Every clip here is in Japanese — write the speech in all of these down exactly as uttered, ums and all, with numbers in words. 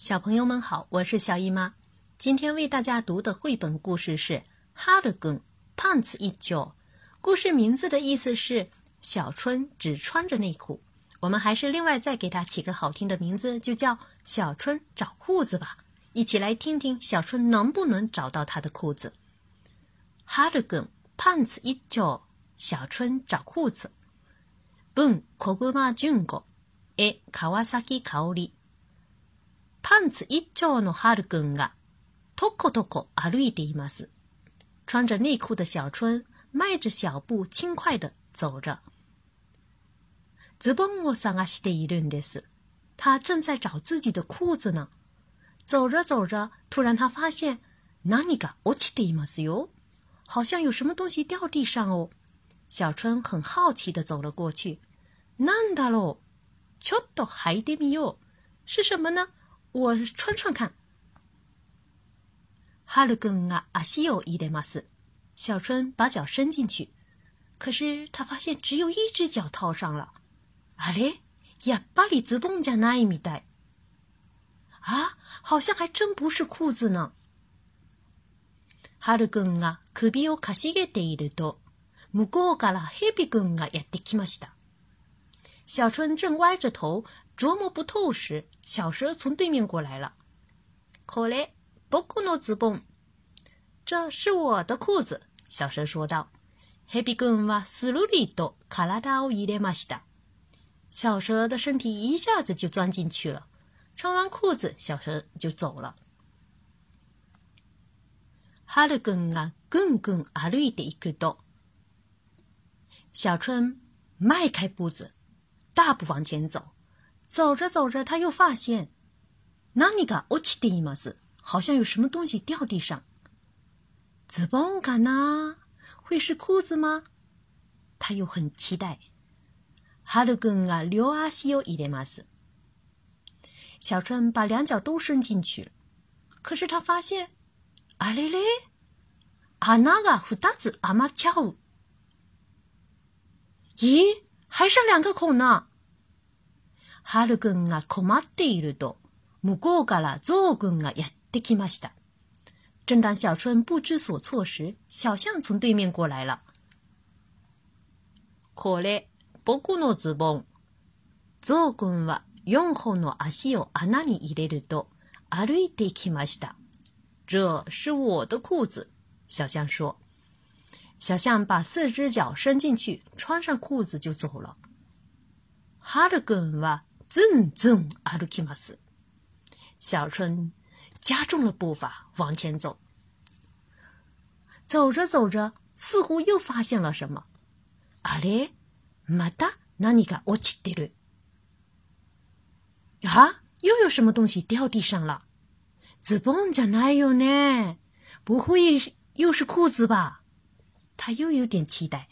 小朋友们好，我是小姨妈。今天为大家读的绘本故事是哈るくんパンツ一丁。故事名字的意思是小春只穿着内裤。我们还是另外再给它起个好听的名字，就叫小春找裤子吧。一起来听听小春能不能找到她的裤子。はるくんパンツ一丁、小春找裤子。文小熊純子、絵川崎香織。パンツ一丁のはるくんがとことこ歩いています。穿着内裤的小春迈着小步轻快地走着。ズボンを探しているんです。他正在找自己的裤子呢。走着走着，突然他发现何が落ちていますよ。好像有什么东西掉地上哦。小春很好奇地走了过去。なんだろう？ちょっと履いてみよう。是什么呢？我穿穿看。はるくんが足を入れます。小春把脚伸进去，可是他发现只有一只脚套上了。あれ？やっぱりズボンじゃないみたい。啊，好像还真不是裤子呢。はるくんが首をかしげていると、向こうからヘビくんがやってきました。小春正歪着头琢磨不透时，小蛇从对面过来了。これ、僕のズボン。这是我的裤子，小蛇说道。ヘビくんはスルリと体を入れました。小蛇的身体一下子就钻进去了。穿完裤子，小蛇就走了。はるくんがぐんぐん歩いていくと、小春迈开步子，大步往前走。走着走着，他又发现何が落ちています。好像有什么东西掉地上。ズボンかな？会是裤子吗？他又很期待。はるくんが両足を入れます。小春把两脚都伸进去了，可是他发现，あれれ？穴が二つ余っちゃう。咦，还剩两个孔呢。はるくんが困っていると、向こうからゾウくんがやってきました。正当小春不知所措时，小象从对面过来了。これ、僕のズボン。ゾウくんは四本の足を穴に入れると歩いてきました。这是我的裤子，小象说。小象把四只脚伸进去，穿上裤子就走了。はるくんはずんずん歩きます。小春加重了步伐往前走。走着走着，似乎又发现了什么。あれ？また何が落ちてる。啊，又有什么东西掉地上了。ズボンじゃないよね。不会又是裤子吧？他又有点期待。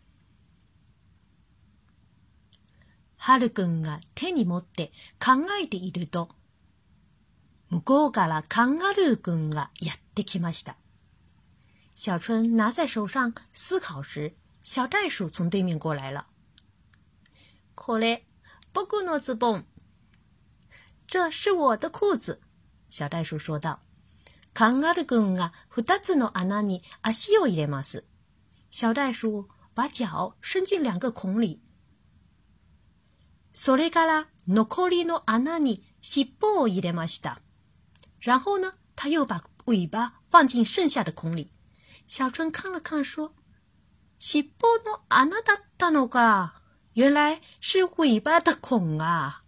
はるくんが手に持って考えていると、向こうからカンガルーくんがやってきました。小春拿在手上思考时，小袋鼠从对面过来了。これ、僕のズボン。这是我的裤子，小袋鼠说道。カンガルーくんが二つの穴に足を入れます。小袋鼠把脚伸进两个孔里。それから残りの穴に尻尾を入れました。然后呢，他又把尾巴放进剩下的孔里。小春看了看说，尻尾の穴だったのか。原来是尾巴的孔啊。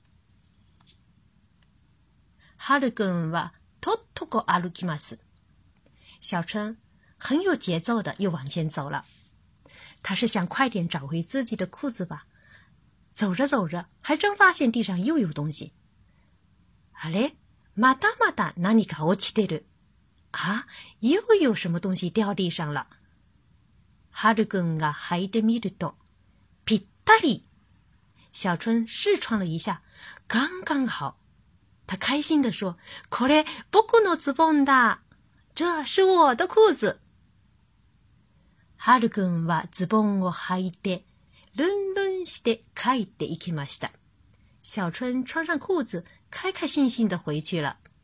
はるくんはとっとこ歩きます。小春很有节奏的又往前走了。他是想快点找回自己的裤子吧。走着走着，还真发现地上又有东西。あれ？またまた何か落ちてる。啊，又有什么东西掉地上了。はるくんが履いてみると、ぴったり。小春试穿了一下，刚刚好。他开心地说，これ、僕のズボンだ。这是我的裤子。はるくんはズボンを履いて、ルンルンして帰っていきました。小春穿上裤子，开开心心地回去了。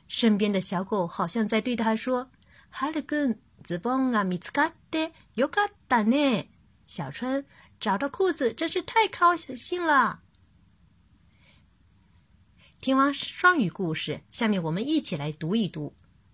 身边的小狗好像在对他说：“哈ルくん、ズボンが見つかってよかったね。”小春找到裤子真是太高兴了。听完双语故事，下面我们一起来读一读。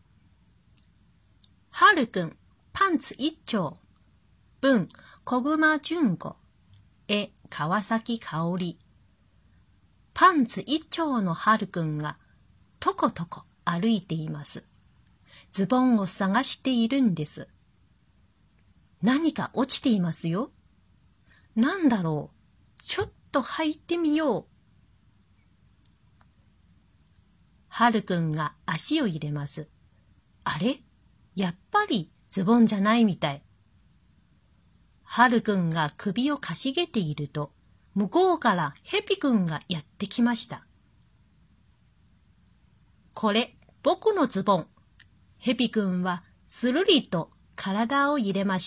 はるくん、パンツ一丁。文、小熊純子。絵、川崎香織。パンツ一丁のはるくんがとことこ歩いています。ズボンを探しているんです。何か落ちていますよ。なんだろう。ちょっと履いてみよう。はるくんが足を入れます。あれ？やっぱりズボンじゃないみたい。はるくんが首をかしげていると、向こうからヘビくんがやってきました。これ、僕のズボン。ヘビくんはするりと体を入れました。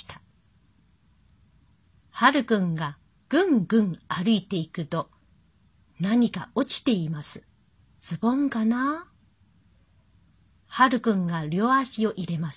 はるくんがぐんぐん歩いていくと、何か落ちています。ズボンかな？はるくんが両足を入れます。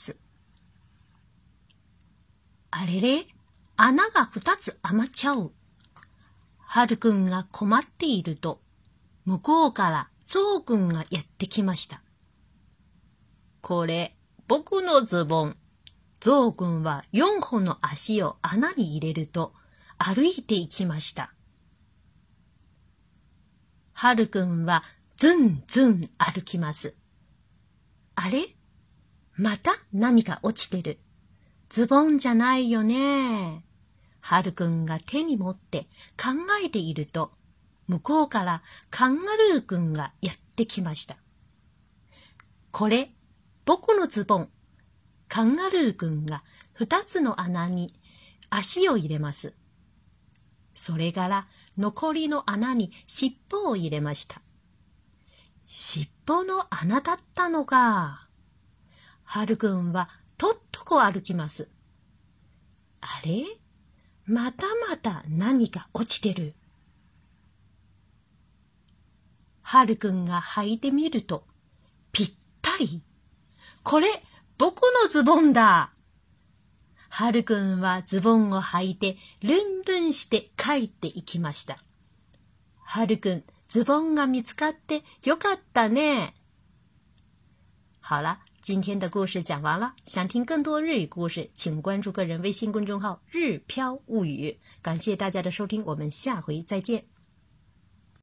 あれれ？穴が二つ余っちゃう。はるくんが困っていると、向こうからゾウくんがやってきました。これ、僕のズボン。ゾウくんは四本の足を穴に入れると、歩いていきました。はるくんはずんずん歩きます。あれ？また何か落ちてる。ズボンじゃないよね。はるくんが手に持って考えていると、向こうからカンガルーくんがやってきました。これ、僕のズボン。カンガルーくんが二つの穴に足を入れます。それから残りの穴に尻尾を入れました。尻尾の穴だったのか。はるくんはとっとこ歩きます。あれ？またまた何か落ちてる。はるくんが履いてみると、ぴったり。これ、僕のズボンだ。はるくんはズボンを履いてルンルンして帰っていきました。はるくん、ズボンが見つかってよかったね。好了，今天的故事讲完了。想听更多日语故事，请关注个人微信公众号“日飘物语”。感谢大家的收听，我们下回再见。